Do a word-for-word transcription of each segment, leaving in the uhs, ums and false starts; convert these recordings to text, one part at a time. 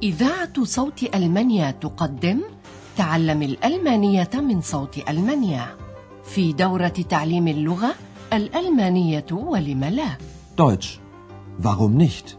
إذاعة صوت ألمانيا تقدم تعلم الألمانية من صوت ألمانيا في دورة تعليم اللغة الألمانية ولم لا. Deutsch. Warum nicht?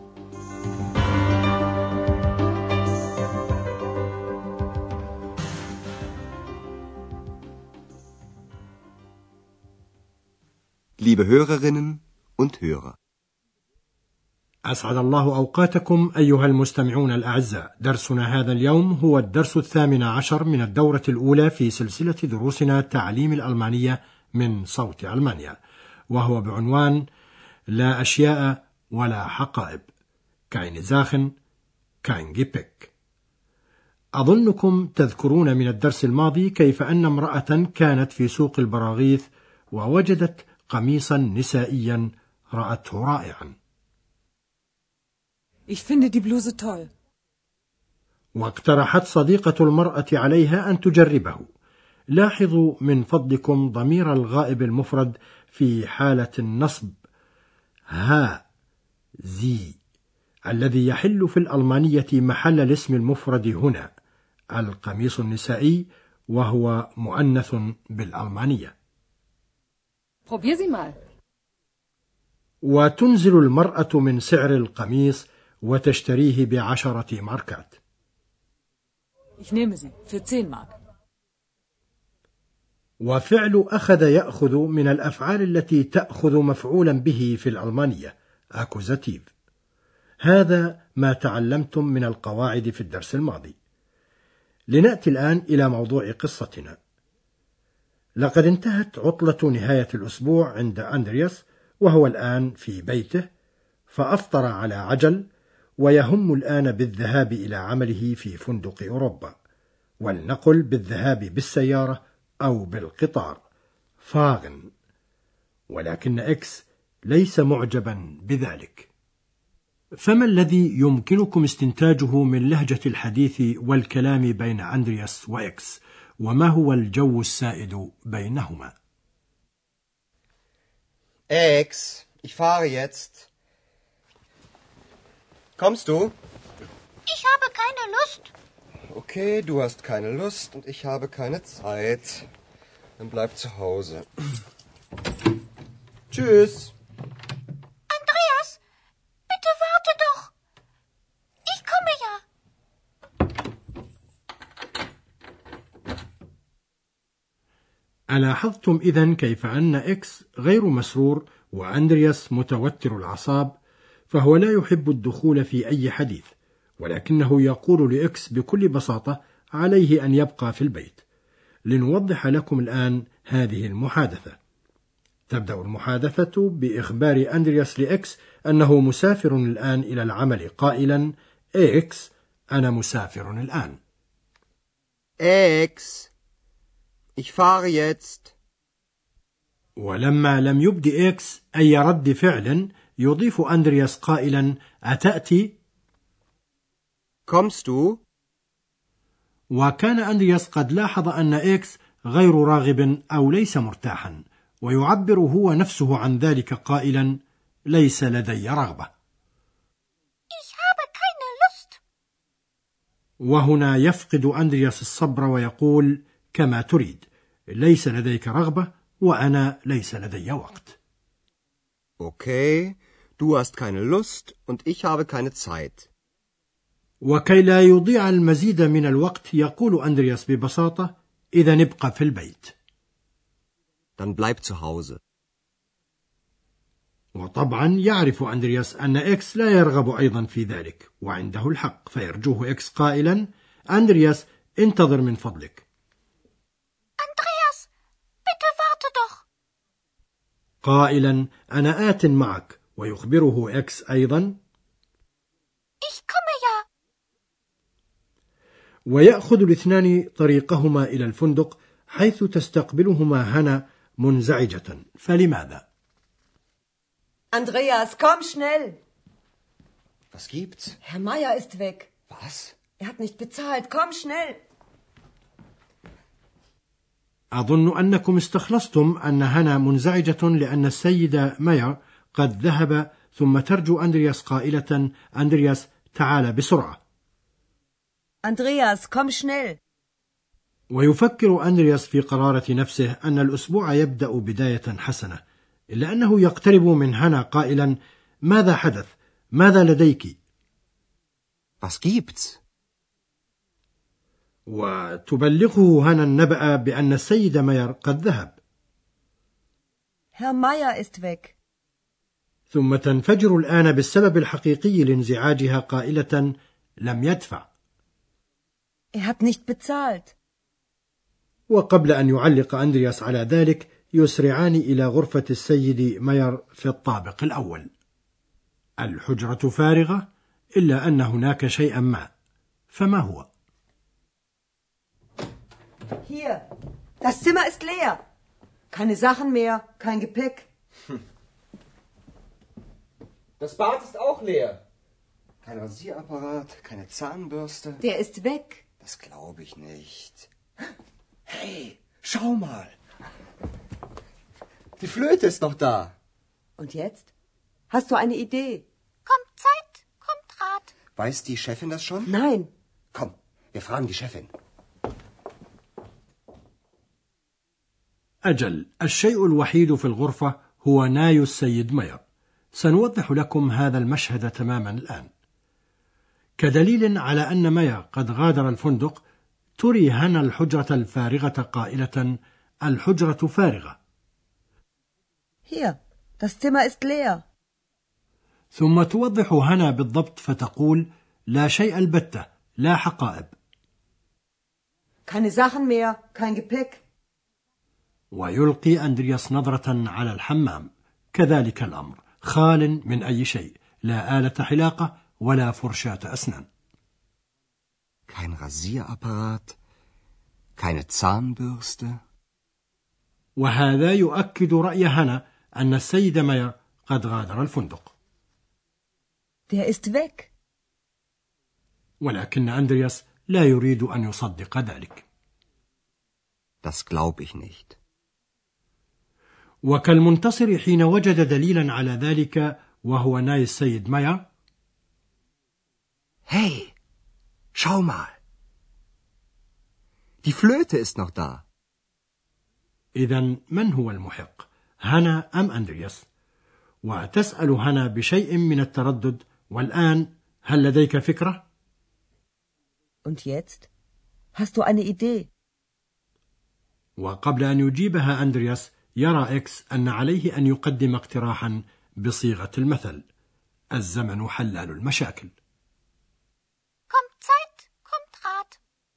Liebe Hörerinnen und Hörer. أسعد الله أوقاتكم أيها المستمعون الأعزاء. درسنا هذا اليوم هو الدرس الثامن عشر من الدورة الأولى في سلسلة دروسنا تعليم الألمانية من صوت ألمانيا، وهو بعنوان لا أشياء ولا حقائب. keine Sachen, kein Gepäck. أظنكم تذكرون من الدرس الماضي كيف أن امرأة كانت في سوق البراغيث ووجدت قميصا نسائيا رأته رائعا. Ich finde die Bluse toll. واقترحت صديقة المرأة عليها أن تجربه. لاحظوا من فضلكم ضمير الغائب المفرد في حالة النصب ها زي الذي يحل في الألمانية محل الاسم المفرد هنا القميص النسائي، وهو مؤنث بالألمانية. Probier sie mal. وتنزل المرأة من سعر القميص وتشتريه بعشرة ماركات. Ich nehme sie für zehn Mark. وفعل أخذ يأخذ من الأفعال التي تأخذ مفعولا به في الألمانية أكوزاتيف. هذا ما تعلمتم من القواعد في الدرس الماضي. لنأتي الآن إلى موضوع قصتنا. لقد انتهت عطلة نهاية الأسبوع عند أندرياس، وهو الآن في بيته، فأفطر على عجل ويهم الآن بالذهاب إلى عمله في فندق أوروبا، ولنقل بالذهاب بالسيارة أو بالقطار فاغن. ولكن إكس ليس معجبا بذلك. فما الذي يمكنكم استنتاجه من لهجة الحديث والكلام بين أندرياس وإكس، وما هو الجو السائد بينهما؟ Ex, ich fahre jetzt. Kommst du? Ich habe keine Lust. Okay, du hast keine Lust und ich habe keine Zeit. Dann bleib zu Hause. Tschüss. Andreas, bitte warte doch. Ich komme ja. ألاحظتم إذن كيف أن إكس غير مسرور وأندرياس متوتر الأعصاب؟ فهو لا يحب الدخول في أي حديث، ولكنه يقول لإكس بكل بساطة عليه أن يبقى في البيت. لنوضح لكم الآن هذه المحادثة. تبدأ المحادثة بإخبار أندرياس لإكس أنه مسافر الآن إلى العمل، قائلا إكس أنا مسافر الآن. Ex, ich fahre jetzt. ولما لم يبدي إكس أي رد فعل يضيف أندرياس قائلا أتأتي؟ Kommst du? وكان أندرياس قد لاحظ أن إكس غير راغب أو ليس مرتاحا، ويعبر هو نفسه عن ذلك قائلا ليس لدي رغبة. Ich habe keine Lust. وهنا يفقد أندرياس الصبر ويقول كما تريد، ليس لديك رغبة وأنا ليس لدي وقت. Okay, du hast keine Lust und ich habe keine Zeit. وكي لا يضيع المزيد من الوقت يقول أندرياس ببساطة إذا ابقى في البيت. Dann bleib zu Hause. وطبعا يعرف أندرياس أن إكس لا يرغب أيضا في ذلك، وعنده الحق، فيرجوه إكس قائلا أندرياس انتظر من فضلك. Andreas, bitte warte doch. قائلا أنا آت معك، ويخبره إكس أيضا Ich komme ja. ويأخذ الاثنان طريقهما إلى الفندق، حيث تستقبلهما هنا منزعجة. فلماذا؟ Andreas, komm schnell. Was gibt's? Herr Meier ist weg. Was? Er hat nicht bezahlt. Komm schnell. أظن أنكم استخلصتم أن هنا منزعجة لأن السيد ماير قد ذهب، ثم ترجو أندرياس قائلة أندرياس تعال بسرعة. Andreas, komm schnell. ويفكر أندرياس في قرارة نفسه أن الأسبوع يبدأ بداية حسنة، إلا أنه يقترب من هانا قائلا: ماذا حدث؟ ماذا لديك؟ Was gibt's? وتبلغه هانا النبأ بأن السيد ماير قد ذهب. Herr Meier ist weg. ثم تنفجر الآن بالسبب الحقيقي لانزعاجها قائلة: لم يدفع. Er hat nicht bezahlt. وقبل أن يعلق أندرياس على ذلك يسرعان إلى غرفة السيد ماير في الطابق الأول. الحجرة فارغة إلا أن هناك شيئا ما، فما هو؟ Hier, das Zimmer ist leer. Keine Sachen mehr, kein Gepäck. Das Bad ist auch leer. Kein Rasierapparat, keine Zahnbürste. Der ist weg. Das glaube ich nicht. Hey, schau mal. Die Flöte ist noch da. Und jetzt? Hast du eine Idee? Kommt Zeit, kommt Rat. Weiß die Chefin das schon? Nein. Komm, wir fragen die Chefin. أجل، الشيء الوحيد في الغرفة هو ناي السيد ماير. سنوضح لكم هذا المشهد تماما الآن. كدليل على أن ماير قد غادر الفندق، تري هانا الحجرة الفارغة قائلة: الحجرة فارغة. Hier, das Zimmer ist leer. ثم توضح هانا بالضبط فتقول: لا شيء البتة، لا حقائب. Keine Sachen mehr, kein Gepäck. ويلقي أندرياس نظرة على الحمام، كذلك الأمر، خال من أي شيء، لا آلة حلاقة ولا فرشاة أسنان. Kein Rasierapparat, keine Zahnbürste. وهذا يؤكد رأي هانا أن السيد ماير قد غادر الفندق. Der ist weg. ولكن أندرياس لا يريد أن يصدق ذلك. Das glaub ich nicht. وكالمنتصر حين وجد دليلا على ذلك وهو ناي السيد ماير: Hey, schau mal. Die Flöte ist noch da. إذن من هو المحق، هانا أم أندرياس؟ وتسأل هانا بشيء من التردد: والآن هل لديك فكرة؟ Und jetzt? Hast du eine Idee? وقبل أن يجيبها أندرياس يرى إكس أن عليه أن يقدم اقتراحا بصيغة المثل: الزمن حلال المشاكل. Kommt Zeit, kommt Rat.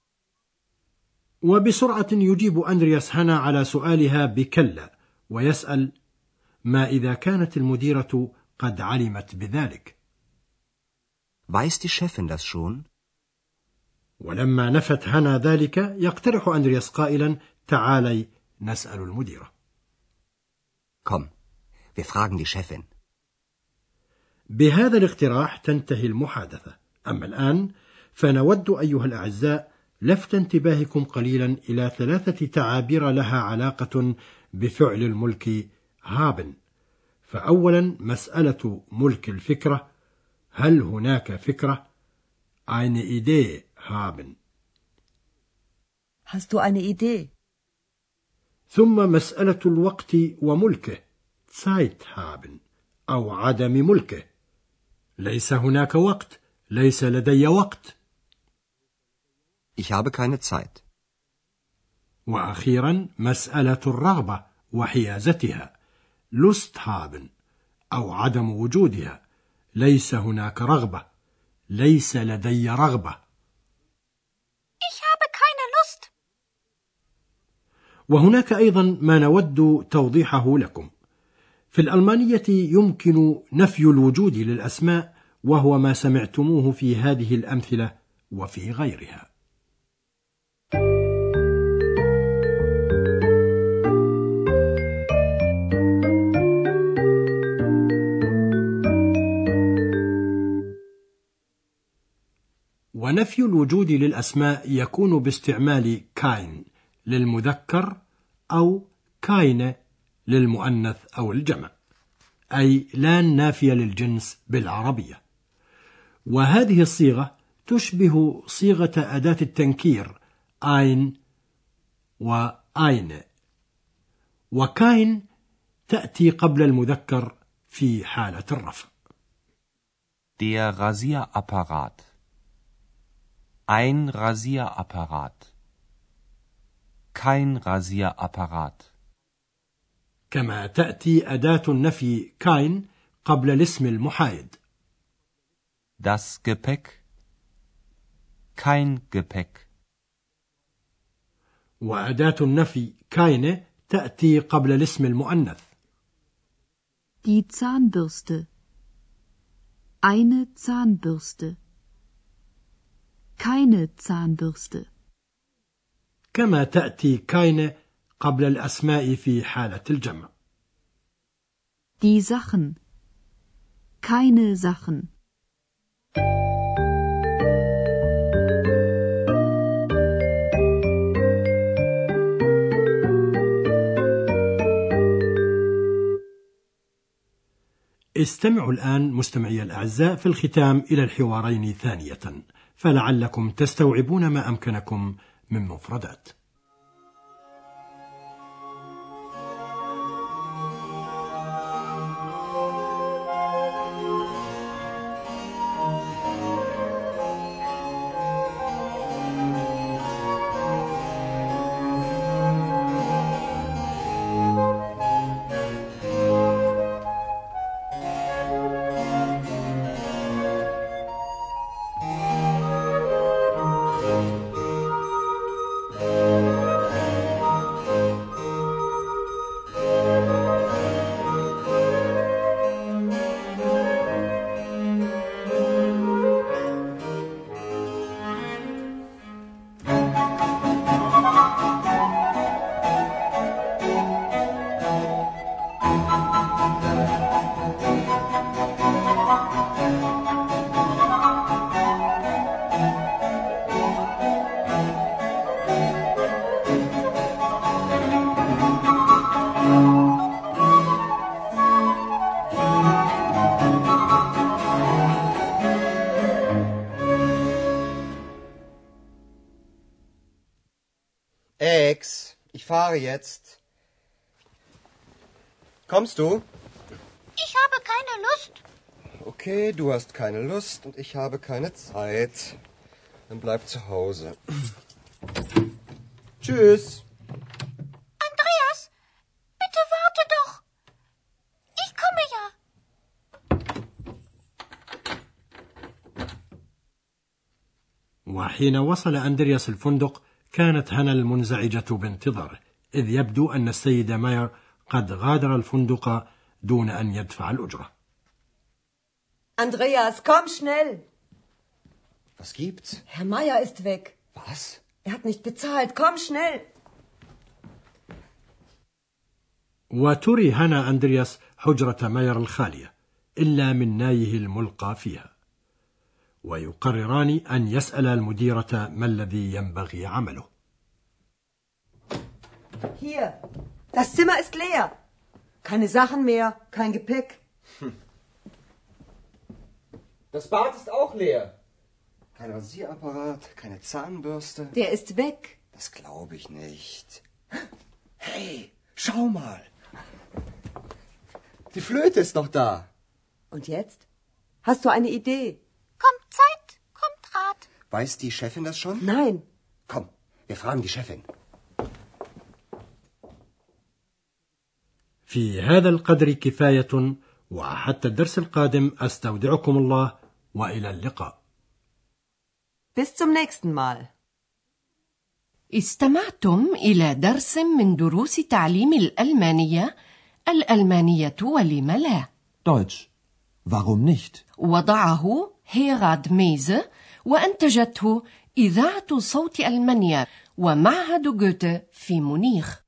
وبسرعة يجيب أندرياس هانا على سؤالها بكلا، ويسأل: ما إذا كانت المديرة قد علمت بذلك؟ Weiß die Chefin das schon? ولما نفت هانا ذلك يقترح أندرياس قائلا: تعالي نسأل المديرة. Komm, wir fragen die Chefin. بهذا الاقتراح تنتهي المحادثة. أما الآن فنود أيها الأعزاء لفت انتباهكم قليلا إلى ثلاثة تعابير لها علاقة بفعل الملك هابن. فأولا مسألة ملك الفكرة: هل هناك فكرة؟ eine Idee haben. Hast du eine Idee? ثم مسألة الوقت وملكه: Zeit haben أو عدم ملكه. ليس هناك وقت، ليس لدي وقت. Ich habe keine Zeit. وأخيرا مسألة الرغبة وحيازتها: Lust haben أو عدم وجودها. ليس هناك رغبة، ليس لدي رغبة. Ich habe keine Lust. وهناك أيضا ما نود توضيحه لكم. في الألمانية يمكن نفي الوجود للأسماء، وهو ما سمعتموه في هذه الأمثلة وفي غيرها. ونفي الوجود للأسماء يكون باستعمال كاين للمذكر أو كاينة للمؤنث أو الجمع، أي لا نافية للجنس بالعربية. وهذه الصيغة تشبه صيغة أداة التنكير ein و eine، وكاين تأتي قبل المذكر في حالة الرفع. Der Rasierapparat. Ein Rasierapparat. Kein Rasierapparat. كما تأتي أداة النفي كاين قبل الاسم المحايد. Das Gepäck. Kein Gepäck. وأداة النفي كاينه تأتي قبل الاسم المؤنث. Die Zahnbürste. Eine Zahnbürste. Keine Zahnbürste. كما تأتي كاينه قبل الأسماء في حالة الجمع. Die Sachen. Keine Sachen. استمعوا الآن مستمعي الأعزاء في الختام إلى الحوارين ثانية، فلعلكم تستوعبون ما أمكنكم من مفردات. Ex, ich fahre jetzt. Kommst du? Ich habe keine Lust. Okay, du hast keine Lust und ich habe keine Zeit. Dann bleib zu Hause. Tschüss. Andreas, bitte warte doch. Ich komme ja. وحين وصل أندرياس الفندق كانت هنا المنزعجة بانتظاره، إذ يبدو أن السيد ماير قد غادر الفندق دون أن يدفع الأجرة. Andreas, komm schnell. Was gibt's? Herr Meier ist weg. Was? Er hat nicht bezahlt. Komm schnell. وتري هنا أندرياس حجرة ماير الخالية إلا من نايه الملقى فيها، ويقرران أن يسأل المديرة ما الذي ينبغي عمله. Hier, das Zimmer ist leer. Keine Sachen mehr, kein Gepäck. Hm. Das Bad ist auch leer. Kein Rasierapparat, keine Zahnbürste. Der ist weg. Das glaube ich nicht. Hey, schau mal. Die Flöte ist noch da. Und jetzt? Hast du eine Idee? Kommt Zeit, kommt Rat. Weiß die Chefin das schon? Nein. Komm, wir fragen die Chefin. في هذا القدر كفاية، وحتى الدرس القادم أستودعكم الله وإلى اللقاء. Bis zum nächsten Mal. استمعتم إلى درس من دروس تعليم الألمانية، الألمانية ولم لا. Deutsch. Warum nicht? وضعه هيراد ميزه، وأنتجته إذاعة صوت ألمانيا ومعهد جوته في مونيخ.